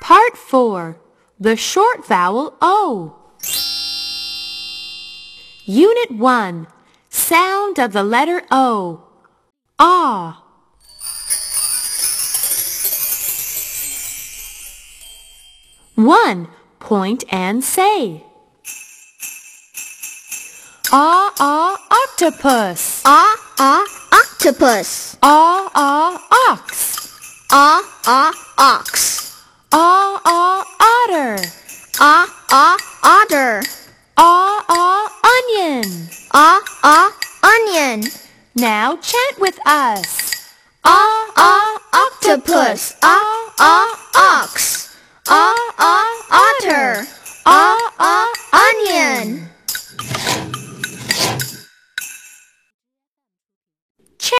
Part 4. The short vowel O. Unit 1. Sound of the letter O. Ah. One. Point and say. Octopus. Octopus. Ox. Ox. Otter. Otter. Onion. Onion. Now chant with us. Octopus.